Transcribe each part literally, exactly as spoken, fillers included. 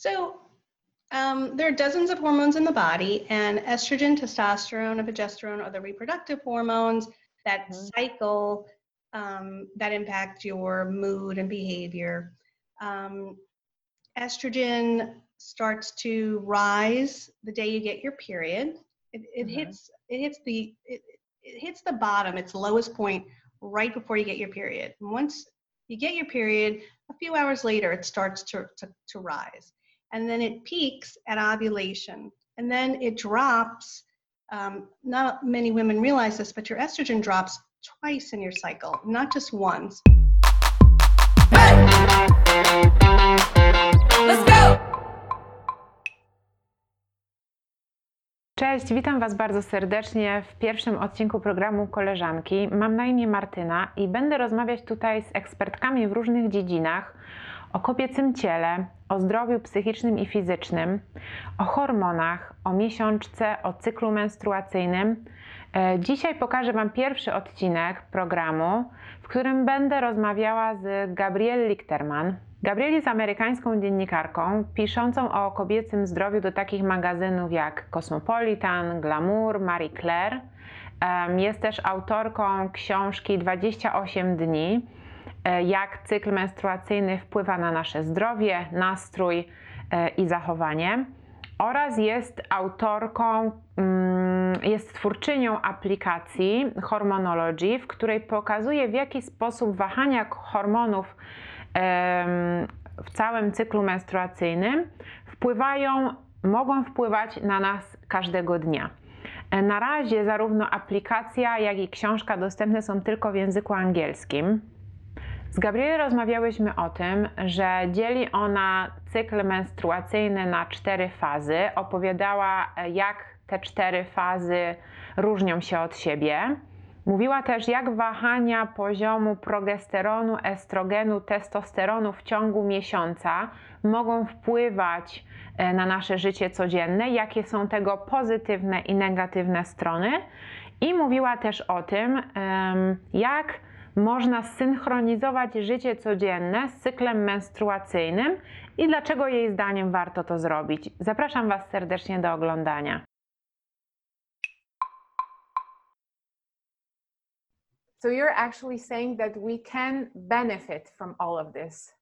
So um, there are dozens of hormones in the body, and estrogen, testosterone, and progesterone are the reproductive hormones that Mhm. cycle, um, that impact your mood and behavior. Um, estrogen starts to rise the day you get your period. It, it Mhm. hits it hits the it, it hits the bottom, its lowest point right before you get your period. And once you get your period, a few hours later it starts to, to, to rise. And then it peaks at ovulation. And then it drops. Um, not many women realize this, but your estrogen drops twice in your cycle, not just once. Let's go! Cześć, witam Was bardzo serdecznie w pierwszym odcinku programu Koleżanki. Mam na imię Martyna i będę rozmawiać tutaj z ekspertkami w różnych dziedzinach o kobiecym ciele, o zdrowiu psychicznym i fizycznym, o hormonach, o miesiączce, o cyklu menstruacyjnym. Dzisiaj pokażę Wam pierwszy odcinek programu, w którym będę rozmawiała z Gabrielle Lichterman. Gabrielle jest amerykańską dziennikarką, piszącą o kobiecym zdrowiu do takich magazynów jak Cosmopolitan, Glamour, Marie Claire. Jest też autorką książki dwadzieścia osiem dni, jak cykl menstruacyjny wpływa na nasze zdrowie, nastrój i zachowanie. Oraz jest autorką, jest twórczynią aplikacji Hormonology, w której pokazuje, w jaki sposób wahania hormonów w całym cyklu menstruacyjnym wpływają, mogą wpływać na nas każdego dnia. Na razie zarówno aplikacja, jak i książka dostępne są tylko w języku angielskim. Z Gabrielle rozmawiałyśmy o tym, że dzieli ona cykl menstruacyjny na cztery fazy. Opowiadała, jak te cztery fazy różnią się od siebie. Mówiła też, jak wahania poziomu progesteronu, estrogenu, testosteronu w ciągu miesiąca mogą wpływać na nasze życie codzienne, jakie są tego pozytywne i negatywne strony. I mówiła też o tym, jak można synchronizować życie codzienne z cyklem menstruacyjnym i dlaczego jej zdaniem warto to zrobić. Zapraszam Was serdecznie do oglądania. So you're actually saying that we can benefit from all of this.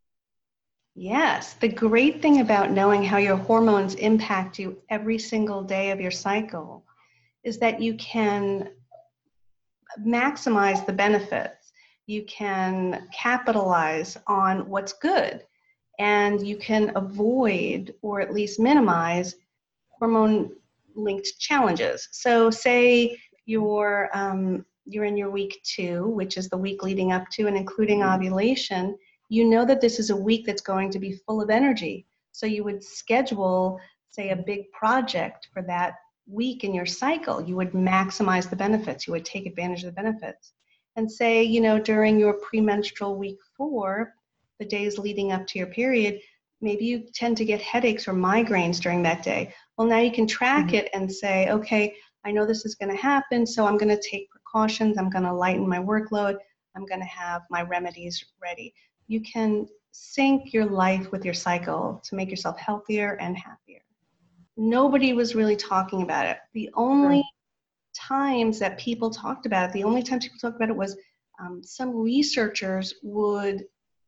Yes, the great thing about knowing how your hormones impact you every single day of your cycle is that you can maximize the benefits. You can capitalize on what's good, and you can avoid or at least minimize hormone-linked challenges. So say you're um, you're in your week two, which is the week leading up to and including ovulation. You know that this is a week that's going to be full of energy. So you would schedule, say, a big project for that week in your cycle. You would maximize the benefits. You would take advantage of the benefits. And say, you know, during your premenstrual week four, the days leading up to your period, maybe you tend to get headaches or migraines during that day. Well, now you can track mm-hmm. it and say, okay, I know this is going to happen, so I'm going to take precautions. I'm going to lighten my workload. I'm going to have my remedies ready. You can sync your life with your cycle to make yourself healthier and happier. Nobody was really talking about it. The only times that people talked about it, the only times people talked about it was um, some researchers would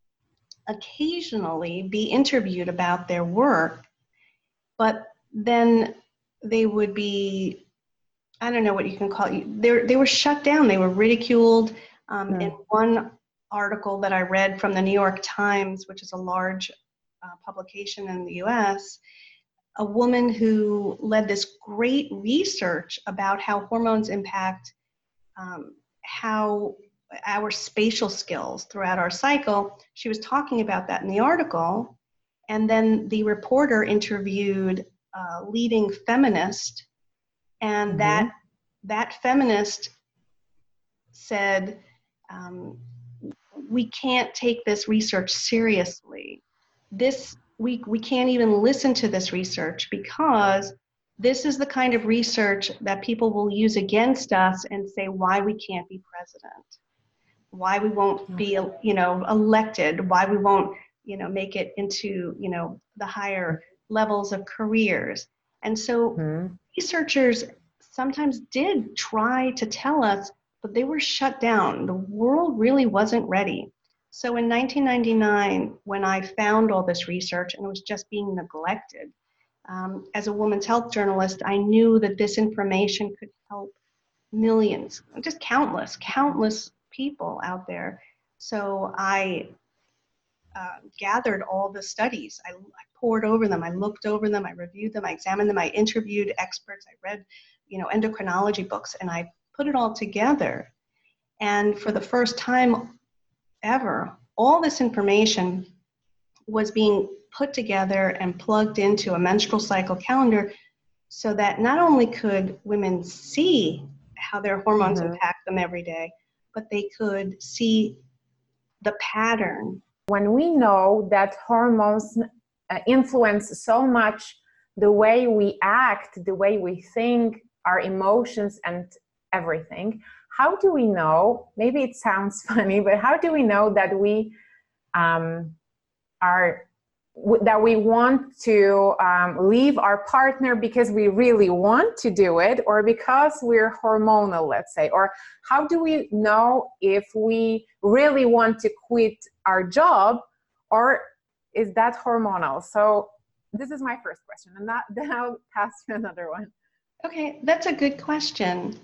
occasionally be interviewed about their work, but then they would be, I don't know what you can call it, they, they were shut down, they were ridiculed. Um, mm. In one article that I read from the New York Times, which is a large uh, publication in the U S, a woman who led this great research about how hormones impact um, how our spatial skills throughout our cycle. She was talking about that in the article, and then the reporter interviewed a leading feminist, and mm-hmm. that that feminist said, um, we can't take this research seriously. This we we can't even listen to this research because this is the kind of research that people will use against us and say why we can't be president, why we won't be, you know, elected, why we won't, you know, make it into, you know, the higher levels of careers. And so Mhm. researchers sometimes did try to tell us, but they were shut down. The world really wasn't ready. So in nineteen ninety-nine, when I found all this research and it was just being neglected, um, as a women's health journalist, I knew that this information could help millions, just countless, countless people out there. So I uh, gathered all the studies. I, I poured over them. I looked over them. I reviewed them. I examined them. I interviewed experts. I read, you know, endocrinology books, and I put it all together. And for the first time ever, all this information was being put together and plugged into a menstrual cycle calendar so that not only could women see how their hormones Mhm. impact them every day, but they could see the pattern. When we know that hormones uh, influence so much the way we act, the way we think, our emotions, and everything, how do we know? Maybe it sounds funny, but how do we know that we um, are that we want to um, leave our partner because we really want to do it, or because we're hormonal, let's say? Or how do we know if we really want to quit our job, or is that hormonal? So this is my first question, and that, then I'll pass to another one. Okay, that's a good question.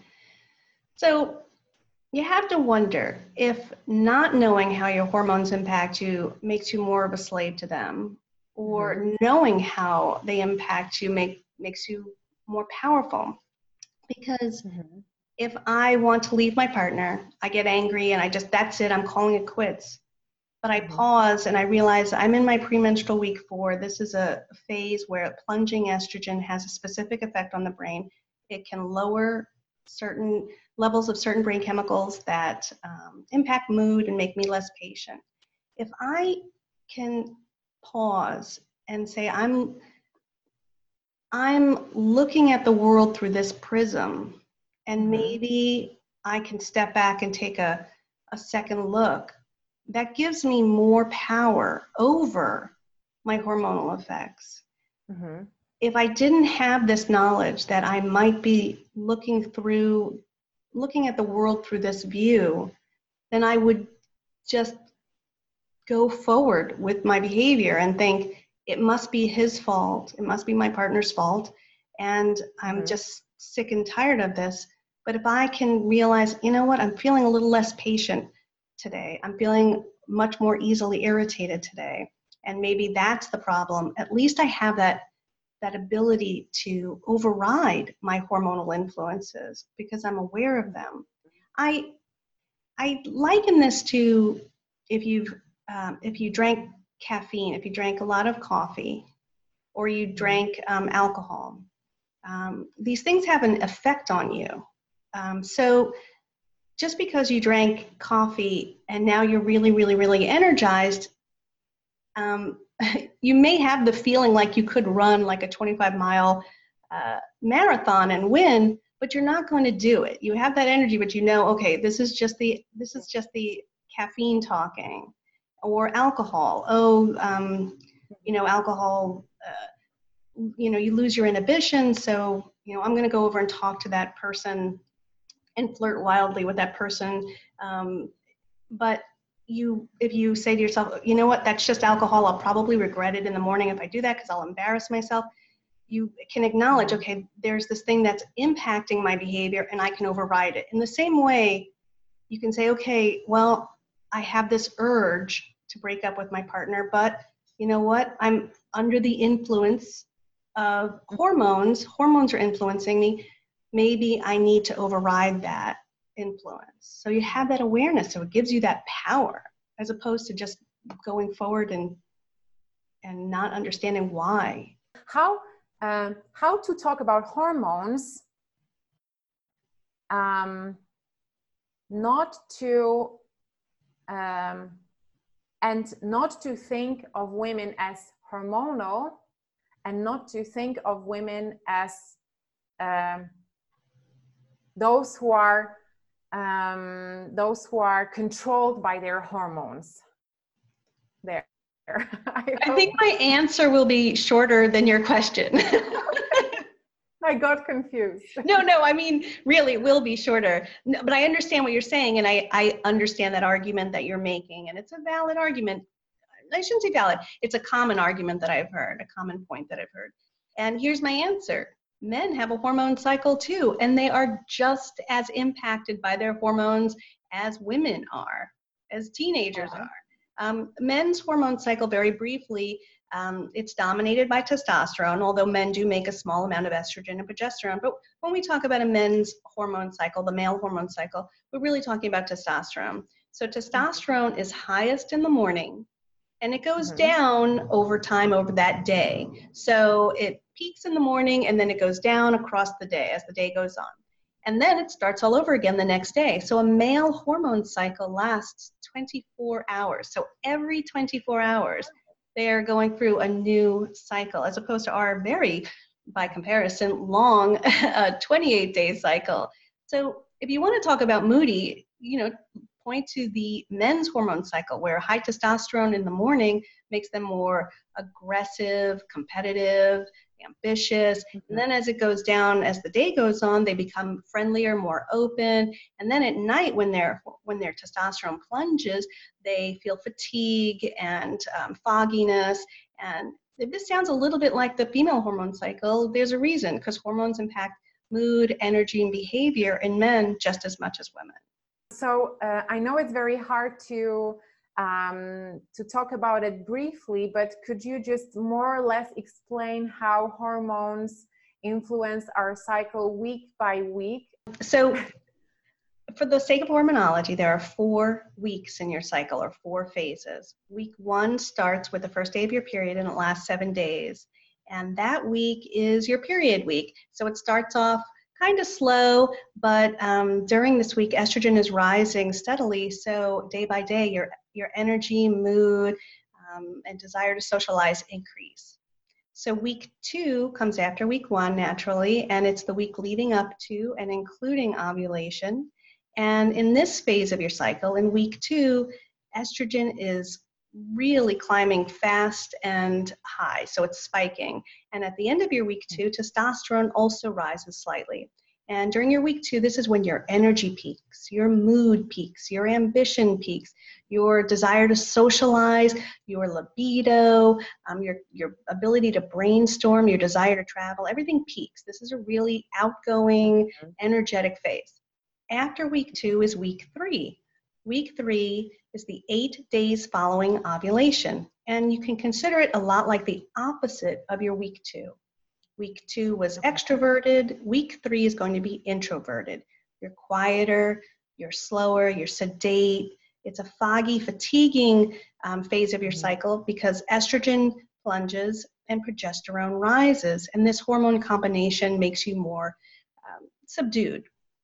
So you have to wonder if not knowing how your hormones impact you makes you more of a slave to them, or Mm-hmm. knowing how they impact you make, makes you more powerful. Because Mm-hmm. if I want to leave my partner, I get angry and I just, that's it, I'm calling it quits. But I Mm-hmm. pause and I realize I'm in my premenstrual week four. This is a phase where plunging estrogen has a specific effect on the brain. It can lower certain levels of certain brain chemicals that um, impact mood and make me less patient. If I can pause and say, I'm, I'm looking at the world through this prism, and Mm-hmm. maybe I can step back and take a, a second look, that gives me more power over my hormonal effects. Mm-hmm. If I didn't have this knowledge that I might be looking through, looking at the world through this view, then I would just go forward with my behavior and think it must be his fault, it must be my partner's fault, and I'm Mm-hmm. just sick and tired of this. But if I can realize, you know what, I'm feeling a little less patient today, I'm feeling much more easily irritated today, and maybe that's the problem, at least I have that that ability to override my hormonal influences because I'm aware of them. I I liken this to if you've um, if you drank caffeine, if you drank a lot of coffee, or you drank um, alcohol. Um, these things have an effect on you. Um, so just because you drank coffee and now you're really, really, really energized, um, you may have the feeling like you could run like a twenty-five mile uh, marathon and win, but you're not going to do it. You have that energy, but you know, okay, this is just the this is just the caffeine talking, or alcohol. Oh, um, you know, alcohol. Uh, you know, you lose your inhibition. So, you know, I'm going to go over and talk to that person and flirt wildly with that person. Um, but you, if you say to yourself, you know what, that's just alcohol, I'll probably regret it in the morning if I do that because I'll embarrass myself, you can acknowledge, Mm-hmm. okay, there's this thing that's impacting my behavior and I can override it. In the same way, you can say, okay, well, I have this urge to break up with my partner, but you know what, I'm under the influence of hormones. Hormones are influencing me. Maybe I need to override that influence. So you have that awareness, so it gives you that power as opposed to just going forward and and not understanding why. How um, how to talk about hormones, um, not to um, and not to think of women as hormonal, and not to think of women as um, those who are um, those who are controlled by their hormones. There. I, I think my answer will be shorter than your question. I got confused. No, no, I mean, really, it will be shorter. No, but I understand what you're saying, and I, I understand that argument that you're making, and it's a valid argument. I shouldn't say valid. It's a common argument that I've heard, a common point that I've heard. And here's my answer. Men have a hormone cycle too, and they are just as impacted by their hormones as women are, as teenagers Yeah. are. Um, men's hormone cycle, very briefly, um, it's dominated by testosterone, although men do make a small amount of estrogen and progesterone. But when we talk about a men's hormone cycle, the male hormone cycle, we're really talking about testosterone. So testosterone is highest in the morning, and it goes Mhm. down over time over that day. So it peaks in the morning, and then it goes down across the day as the day goes on. And then it starts all over again the next day. So a male hormone cycle lasts twenty-four hours. So every twenty-four hours, they are going through a new cycle, as opposed to our very, by comparison, long twenty-eight day cycle. So if you want to talk about moody, you know, point to the men's hormone cycle, where high testosterone in the morning makes them more aggressive, competitive, ambitious. And then as it goes down, as the day goes on, they become friendlier, more open. And then at night, when their when their testosterone plunges, they feel fatigue and um, fogginess. And if this sounds a little bit like the female hormone cycle, there's a reason, because hormones impact mood, energy, and behavior in men just as much as women. So uh, I know it's very hard to um, to talk about it briefly, but could you just more or less explain how hormones influence our cycle week by week? So for the sake of hormonology, there are four weeks in your cycle, or four phases. Week one starts with the first day of your period, and it lasts seven days. And that week is your period week. So it starts off kind of slow, but um, during this week, estrogen is rising steadily. So day by day, your, your energy, mood, um, and desire to socialize increase. So week two comes after week one naturally, and it's the week leading up to and including ovulation. And in this phase of your cycle, in week two, estrogen is really climbing fast and high, so it's spiking. And at the end of your week two, testosterone also rises slightly. And during your week two, this is when your energy peaks, your mood peaks, your ambition peaks, your desire to socialize, your libido, um, your, your ability to brainstorm, your desire to travel, everything peaks. This is a really outgoing, energetic phase. After week two is week three. Week three is the eight days following ovulation, and you can consider it a lot like the opposite of your week two. Week two was extroverted. Week three is going to be introverted. You're quieter, you're slower, you're sedate. It's a foggy, fatiguing um, phase of your cycle because estrogen plunges and progesterone rises, and this hormone combination makes you more um, subdued.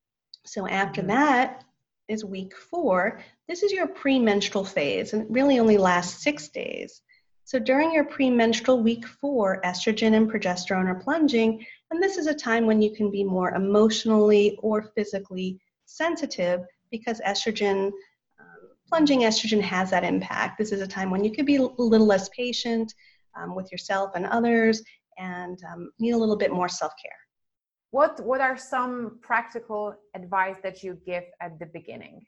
So after Mhm. that is week four. This is your premenstrual phase, and it really only lasts six days. So during your premenstrual week four, estrogen and progesterone are plunging, and this is a time when you can be more emotionally or physically sensitive because estrogen, um, plunging estrogen has that impact. This is a time when you could be a little less patient um, with yourself and others, and um, need a little bit more self-care. What, what are some practical advice that you give at the beginning?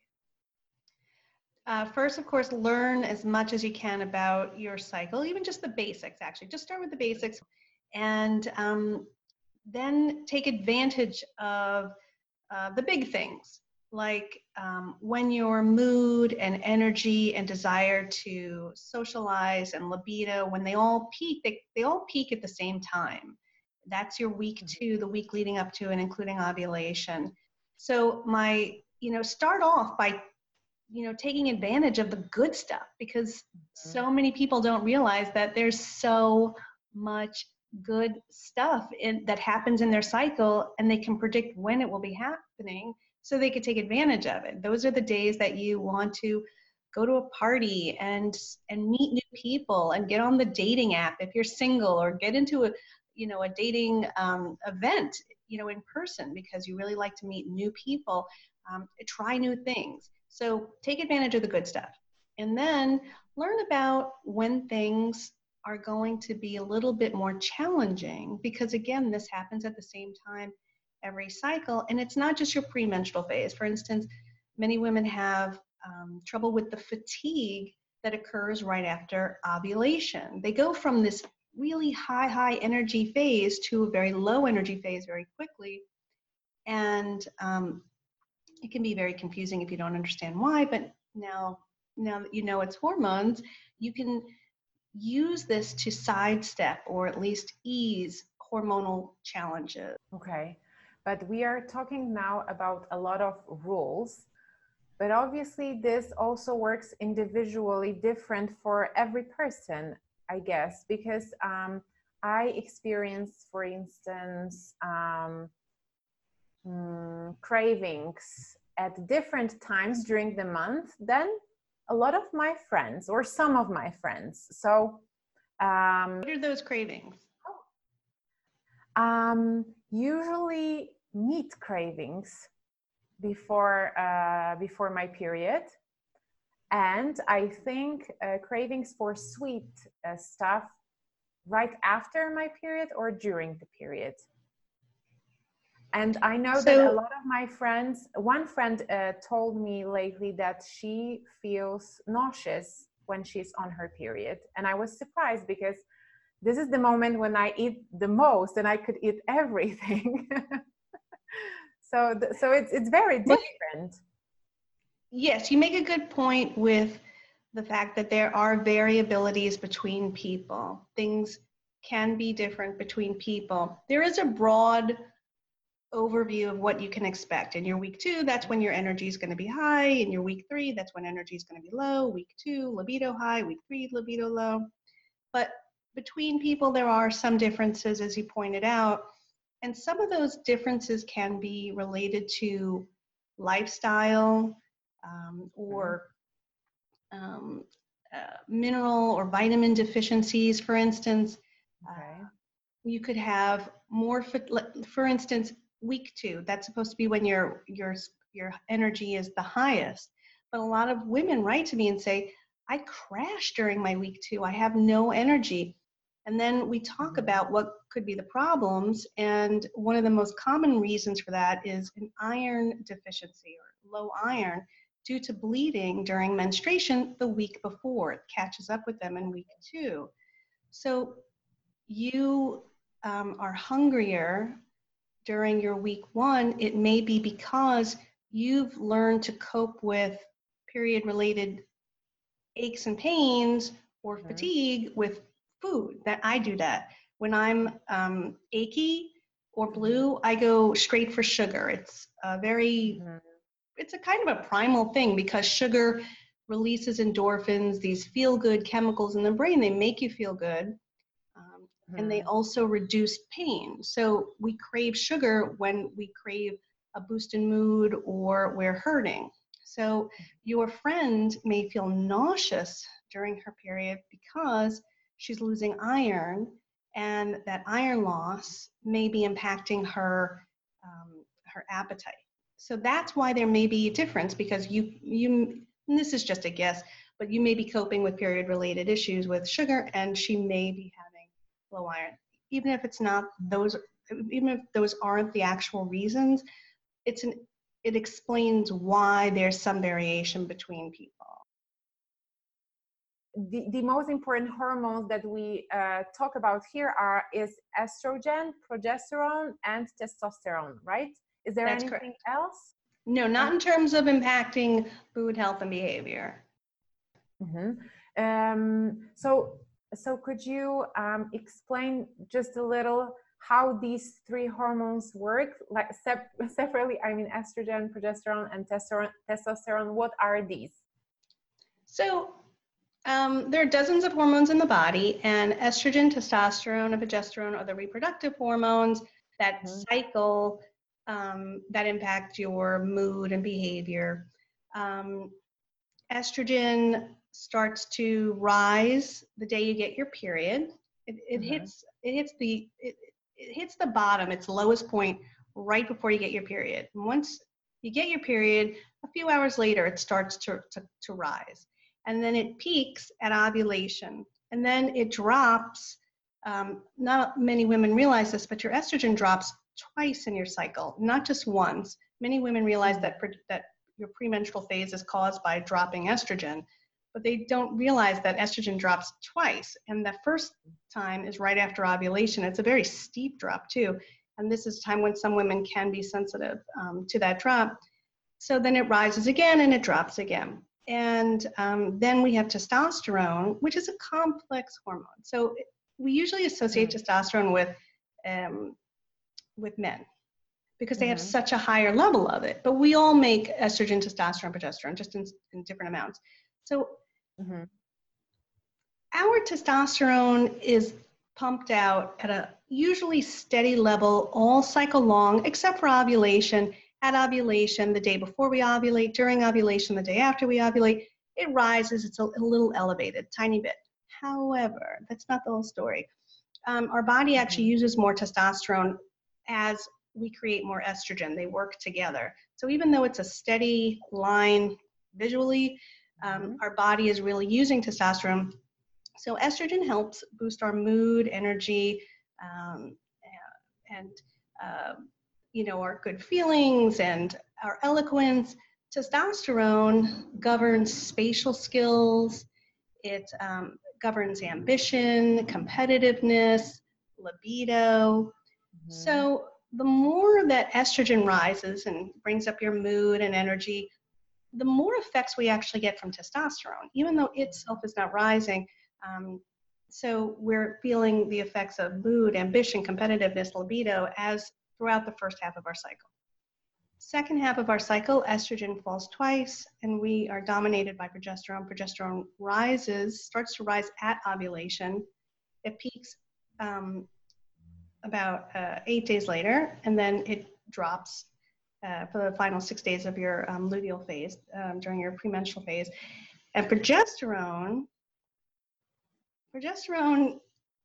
Uh, first, of course, learn as much as you can about your cycle, even just the basics, actually. Just start with the basics, and um, then take advantage of uh, the big things, like um, when your mood and energy and desire to socialize and libido, when they all peak, they, they all peak at the same time. That's your week two, the week leading up to and including ovulation. So my, you know, start off by, you know, taking advantage of the good stuff, because so many people don't realize that there's so much good stuff in, that happens in their cycle, and they can predict when it will be happening so they could take advantage of it. Those are the days that you want to go to a party and and meet new people and get on the dating app if you're single, or get into a, you know, a dating um, event, you know, in person, because you really like to meet new people, um, try new things. So take advantage of the good stuff. And then learn about when things are going to be a little bit more challenging, because again, this happens at the same time every cycle. And it's not just your premenstrual phase. For instance, many women have um, trouble with the fatigue that occurs right after ovulation. They go from this really high, high energy phase to a very low energy phase very quickly. And um, it can be very confusing if you don't understand why, but now, now that you know it's hormones, you can use this to sidestep or at least ease hormonal challenges. Okay, but we are talking now about a lot of rules, but obviously this also works individually different for every person, I guess, because um, I experience, for instance, um, mm, cravings at different times during the month than a lot of my friends or some of my friends. So um, what are those cravings? Um, usually meat cravings before uh, before my period, and I think uh, cravings for sweet uh, stuff right after my period or during the period. And I know So, that a lot of my friends, one friend uh, told me lately that she feels nauseous when she's on her period, and I was surprised because this is the moment when I eat the most and I could eat everything. so, th- so it's, it's very different. yes, you make a good point with the fact that there are variabilities between people. Things can be different between people. There is a broad overview of what you can expect. In your week two, that's when your energy is going to be high. In your week three, that's when energy is going to be low. Week two, libido high. Week three, libido low. But between people, there are some differences, as you pointed out. And some of those differences can be related to lifestyle um, or um, uh, mineral or vitamin deficiencies, for instance. Okay. Uh, you could have more, for, for instance, week two, that's supposed to be when your, your, your energy is the highest. But a lot of women write to me and say, I crash during my week two, I have no energy. And then we talk Mm-hmm. about what could be the problems. And one of the most common reasons for that is an iron deficiency or low iron due to bleeding during menstruation the week before. It catches up with them in week two. So you um, are hungrier during your week one, it may be because you've learned to cope with period related aches and pains or Mm-hmm. fatigue with food. That I do that. When I'm um, achy or blue, I go straight for sugar. It's a very, Mm-hmm. it's a kind of a primal thing because sugar releases endorphins, these feel good chemicals in the brain. They make you feel good. Um, and they also reduce pain. So we crave sugar when we crave a boost in mood or we're hurting. So your friend may feel nauseous during her period because she's losing iron, and that iron loss may be impacting her um, her appetite. So that's why there may be a difference, because you you and this is just a guess, but you may be coping with period related issues with sugar, and she may be having low iron. Even if it's not those, even if those aren't the actual reasons, it's an it explains why there's some variation between people. The, the most important hormones that we uh, talk about here are is estrogen, progesterone, and testosterone, right? Is there That's anything correct. else? No, not in terms of impacting food, health, and behavior. Mm-hmm. Um, so, so could you um, explain just a little how these three hormones work, like sep- separately? I mean, estrogen, progesterone, and testosterone. Testosterone. What are these? So um, there are dozens of hormones in the body, and estrogen, testosterone, and progesterone are the reproductive hormones that Mm-hmm. cycle um, that impact your mood and behavior. Um, estrogen starts to rise the day you get your period. It, it Mm-hmm. hits it hits the it, it hits the bottom, its lowest point, right before you get your period. And once you get your period, a few hours later, it starts to, to, to rise. and then it peaks at ovulation, and then it drops. Um, not many women realize this, but your estrogen drops twice in your cycle, not just once. Many women realize that, that your premenstrual phase is caused by dropping estrogen, but they don't realize that estrogen drops twice. And the first time is right after ovulation. It's a very steep drop too. And this is a time when some women can be sensitive um, to that drop. So then it rises again and it drops again. And um, then we have testosterone, which is a complex hormone. So we usually associate mm-hmm. testosterone with, um, with men because they mm-hmm. have such a higher level of it. But we all make estrogen, testosterone, progesterone, just in, in different amounts. So mm-hmm. our testosterone is pumped out at a usually steady level all cycle long, except for ovulation. At ovulation, the day before we ovulate, during ovulation, the day after we ovulate, it rises. It's a, a little elevated, tiny bit. However, that's not the whole story. Um, our body actually mm-hmm. uses more testosterone as we create more estrogen. They work together. So even though it's a steady line visually, um, mm-hmm. our body is really using testosterone. So estrogen helps boost our mood, energy, um, and uh, you know, our good feelings and our eloquence. Testosterone governs spatial skills. It um, governs ambition, competitiveness, libido. Mm-hmm. So the more that estrogen rises and brings up your mood and energy, the more effects we actually get from testosterone, even though itself is not rising. Um, so we're feeling the effects of mood, ambition, competitiveness, libido as throughout the first half of our cycle. Second half of our cycle, estrogen falls twice, and we are dominated by progesterone. Progesterone rises, starts to rise at ovulation. It peaks um, about uh, eight days later, and then it drops uh, for the final six days of your um, luteal phase, um, during your premenstrual phase. And progesterone, progesterone,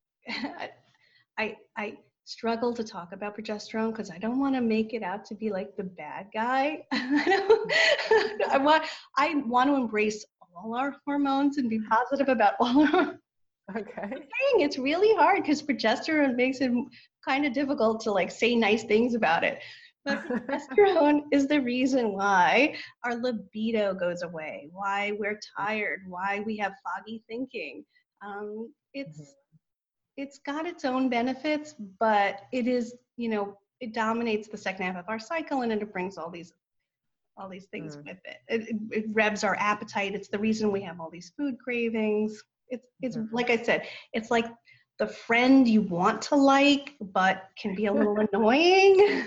I, I struggle to talk about progesterone because I don't want to make it out to be like the bad guy. I want, I want to embrace all our hormones and be positive about all our Okay. It's really hard because progesterone makes it kind of difficult to like say nice things about it. But progesterone is the reason why our libido goes away, why we're tired, why we have foggy thinking. Um, it's mm-hmm. It's got its own benefits, but it is, you know, it dominates the second half of our cycle, and it brings all these all these things mm. with it. It, it. It revs our appetite. It's the reason we have all these food cravings. It's it's mm-hmm. like I said, it's like the friend you want to like, but can be a little annoying.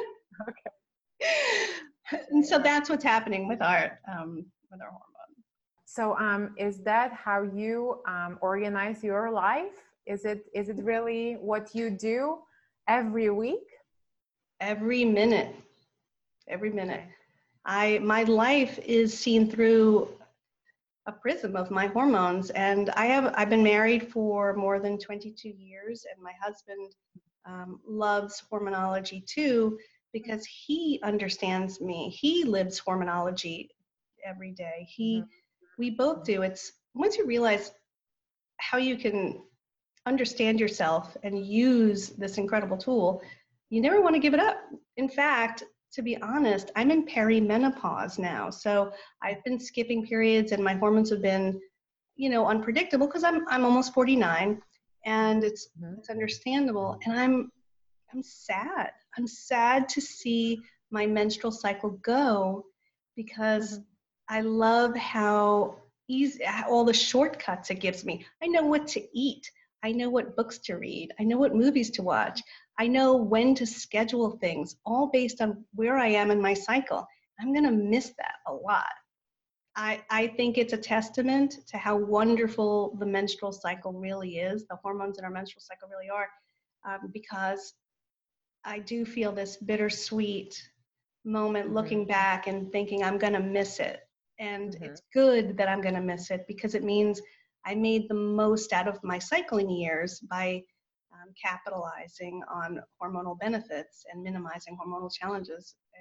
Okay. And so that's what's happening with our um, with our hormone. So um, is that how you um, organize your life? Is it is it really what you do every week? Every minute. Every minute. I my life is seen through a prism of my hormones, and I have I've been married for more than twenty-two years, and my husband um, loves hormonology too because he understands me. He lives hormonology every day. He mm-hmm. we both do. It's once you realize how you can understand yourself and use this incredible tool, you never want to give it up. In fact, to be honest, I'm in perimenopause now. So I've been skipping periods and my hormones have been, you know, unpredictable because I'm I'm almost forty-nine, and it's mm-hmm. it's understandable. And I'm I'm sad. I'm sad to see my menstrual cycle go because mm-hmm. I love how easy all the shortcuts it gives me. I know what to eat. I know what books to read. I know what movies to watch. I know when to schedule things, all based on where I am in my cycle. I'm going to miss that a lot. I, I think it's a testament to how wonderful the menstrual cycle really is, the hormones in our menstrual cycle really are, um, because I do feel this bittersweet moment mm-hmm. looking back and thinking I'm going to miss it. And mm-hmm. it's good that I'm going to miss it because it means I made the most out of my cycling years by um, capitalizing on hormonal benefits and minimizing hormonal challenges. And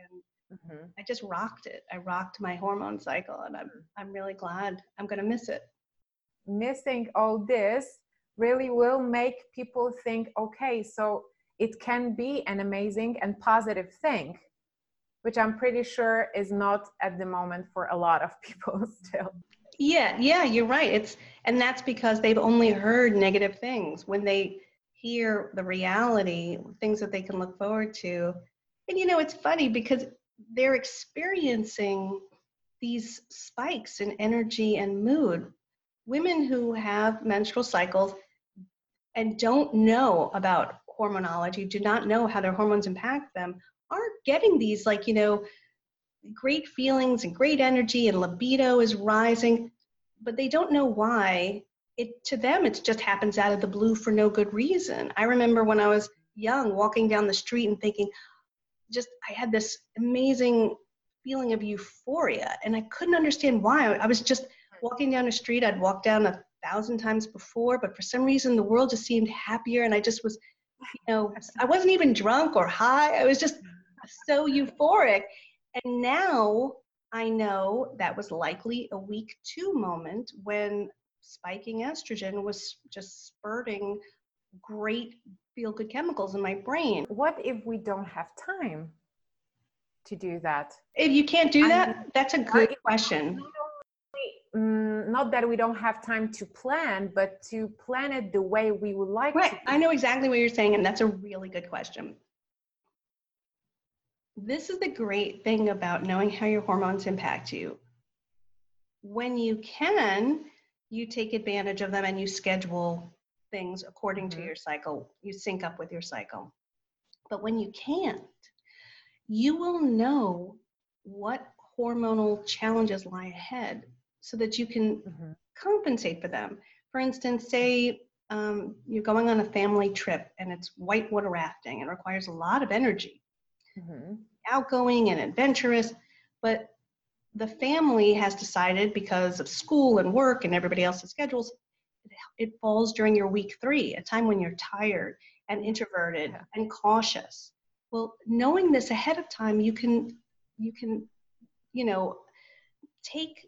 Mhm. I just rocked it. I rocked my hormone cycle, and I'm I'm really glad. I'm going to miss it. Missing all this really will make people think, okay, so it can be an amazing and positive thing, which I'm pretty sure is not at the moment for a lot of people still. Yeah, yeah, you're right. It's and that's because they've only heard negative things. When they hear the reality, things that they can look forward to. And you know, it's funny because they're experiencing these spikes in energy and mood. Women who have menstrual cycles and don't know about hormonology, do not know how their hormones impact them, are getting these, like, you know, great feelings and great energy, and libido is rising, but they don't know why. It to them it just happens out of the blue for no good reason. I remember when I was young walking down the street and thinking, just I had this amazing feeling of euphoria, and I couldn't understand why. I was just walking down the street. I'd walked down a thousand times before, but for some reason the world just seemed happier, and I just was, you know, I wasn't even drunk or high. I was just so euphoric. And now I know that was likely a week two moment when spiking estrogen was just spurting great feel good chemicals in my brain. What if we don't have time to do that? If you can't do I that, mean, that's a good question. Mm, not that we don't have time to plan, but to plan it the way we would like Right. to. I know exactly what you're saying, and that's a really good question. This is the great thing about knowing how your hormones impact you. When you can, you take advantage of them and you schedule things according Mhm. to your cycle. You sync up with your cycle. But when you can't, you will know what hormonal challenges lie ahead so that you can Mhm. compensate for them. For instance, say um, you're going on a family trip and it's whitewater rafting and requires a lot of energy, Mhm. outgoing and adventurous, but the family has decided because of school and work and everybody else's schedules, it falls during your week three, a time when you're tired and introverted Yeah. and cautious. Well, knowing this ahead of time, you can, you can, you know, take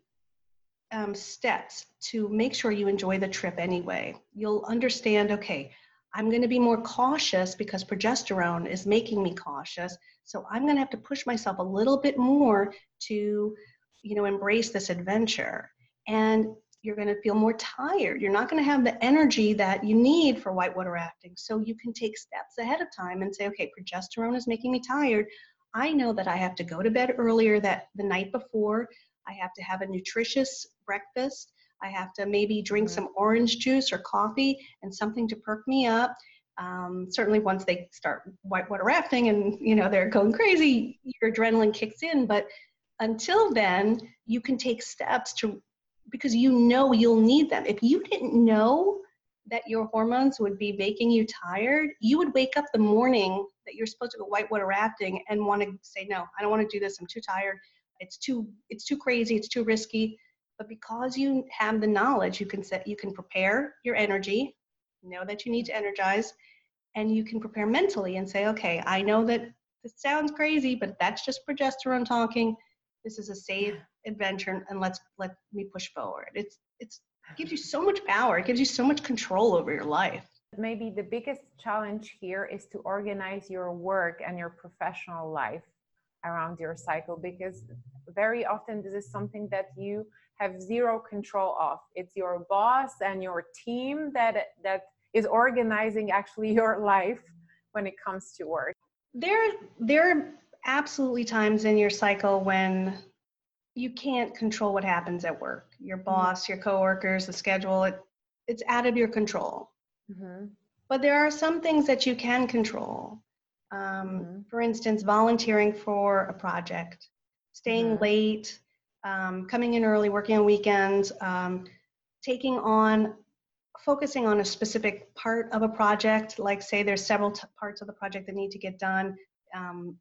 um, steps to make sure you enjoy the trip anyway. You'll understand, okay, I'm going to be more cautious because progesterone is making me cautious. So I'm going to have to push myself a little bit more to, you know, embrace this adventure. And you're going to feel more tired. You're not going to have the energy that you need for whitewater rafting. So you can take steps ahead of time and say, okay, progesterone is making me tired. I know that I have to go to bed earlier that the night before. I have to have a nutritious breakfast. I have to maybe drink Mhm. some orange juice or coffee and something to perk me up. Um, certainly once they start whitewater rafting and, you know, they're going crazy, your adrenaline kicks in. But until then, you can take steps to, because you know you'll need them. If you didn't know that your hormones would be making you tired, you would wake up the morning that you're supposed to go whitewater rafting and want to say, no, I don't want to do this. I'm too tired. It's too, it's too crazy. It's too risky. But because you have the knowledge, you can set, you can prepare your energy, know that you need to energize, and you can prepare mentally and say, okay, I know that this sounds crazy, but that's just progesterone talking. This is a safe adventure, and let's let me push forward. It's it's it gives you so much power. It gives you so much control over your life. Maybe the biggest challenge here is to organize your work and your professional life around your cycle, because very often this is something that you have zero control of. It's your boss and your team that that is organizing actually your life when it comes to work. There there are absolutely times in your cycle when you can't control what happens at work. Your boss, your coworkers, the schedule, it, it's out of your control. Mm-hmm. But there are some things that you can control. Um, Mm-hmm. for instance, volunteering for a project, staying Mm-hmm. late, um, coming in early, working on weekends, um, taking on, focusing on a specific part of a project, like say there's several t- parts of the project that need to get done. Um,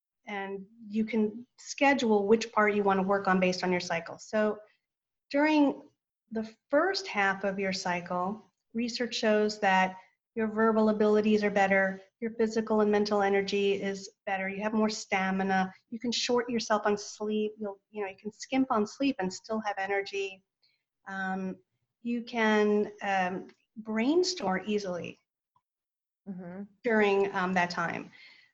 and you can schedule which part you want to work on based on your cycle. So during the first half of your cycle, research shows that your verbal abilities are better, your physical and mental energy is better, you have more stamina, you can shorten yourself on sleep, you'll, you know, you can skimp on sleep and still have energy. Um, you can um, brainstorm easily Mhm. during um, that time.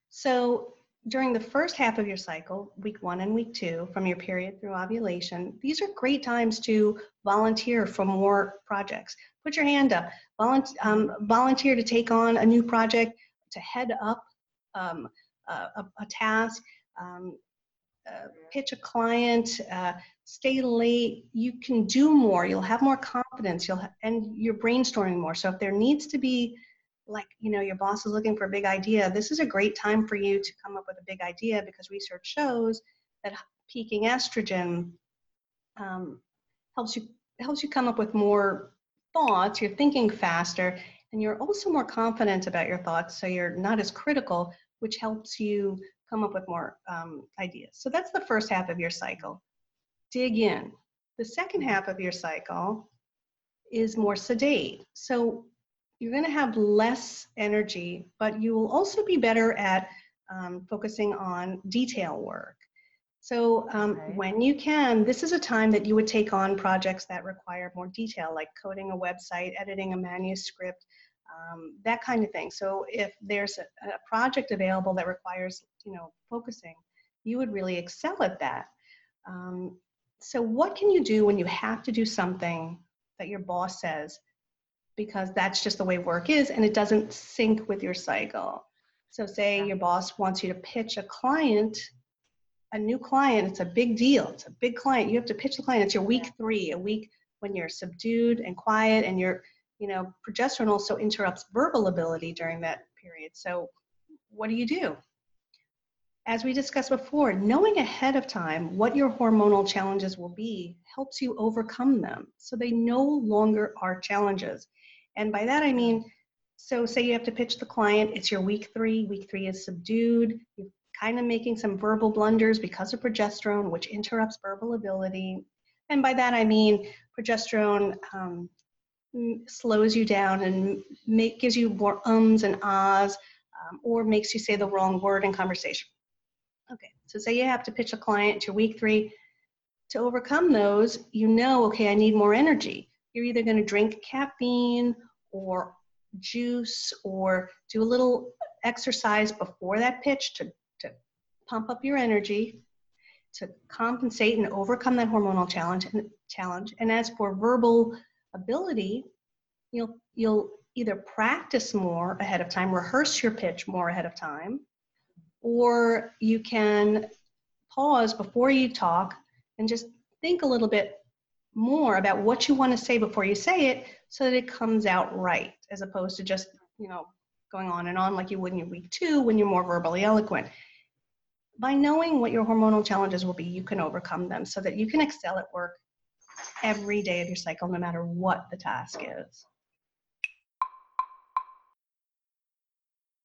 So during the first half of your cycle, week one and week two, from your period through ovulation, these are great times to volunteer for more projects. Put your hand up, Volunt- um, volunteer to take on a new project, to head up um, a, a, a task, um, uh, pitch a client, uh, stay late. You can do more. You'll have more confidence. You'll ha- and you're brainstorming more. So if there needs to be, like, you know, your boss is looking for a big idea, this is a great time for you to come up with a big idea, because research shows that peaking estrogen um, helps you helps you come up with more thoughts. You're thinking faster, and you're also more confident about your thoughts, so you're not as critical, which helps you come up with more um, ideas. So that's the first half of your cycle. Dig in. The second half of your cycle is more sedate. So you're going to have less energy, but you will also be better at um, focusing on detail work. So um, Okay. when you can, this is a time that you would take on projects that require more detail, like coding a website, editing a manuscript, um, that kind of thing. So if there's a, a project available that requires, you know, focusing, you would really excel at that. Um, so what can you do when you have to do something that your boss says, because that's just the way work is and it doesn't sync with your cycle? So say Yeah. your boss wants you to pitch a client, a new client, it's a big deal. It's a big client. You have to pitch the client. It's your week three, a week when you're subdued and quiet, and your, you know, progesterone also interrupts verbal ability during that period. So what do you do? As we discussed before, knowing ahead of time what your hormonal challenges will be helps you overcome them, so they no longer are challenges. And by that I mean, so say you have to pitch the client, it's your week three, week three is subdued, you're kind of making some verbal blunders because of progesterone, which interrupts verbal ability. And by that I mean progesterone um, slows you down and make, gives you more ums and ahs, um, or makes you say the wrong word in conversation. Okay, so say you have to pitch a client to week three. To overcome those, you know, okay, I need more energy. You're either going to drink caffeine or juice or do a little exercise before that pitch to, to pump up your energy, to compensate and overcome that hormonal challenge. And, challenge. And as for verbal ability, you'll, you'll either practice more ahead of time, rehearse your pitch more ahead of time, or you can pause before you talk and just think a little bit more about what you want to say before you say it, so that it comes out right, as opposed to just, you know, going on and on like you would in your week two when you're more verbally eloquent. By knowing what your hormonal challenges will be, you can overcome them so that you can excel at work every day of your cycle, no matter what the task is.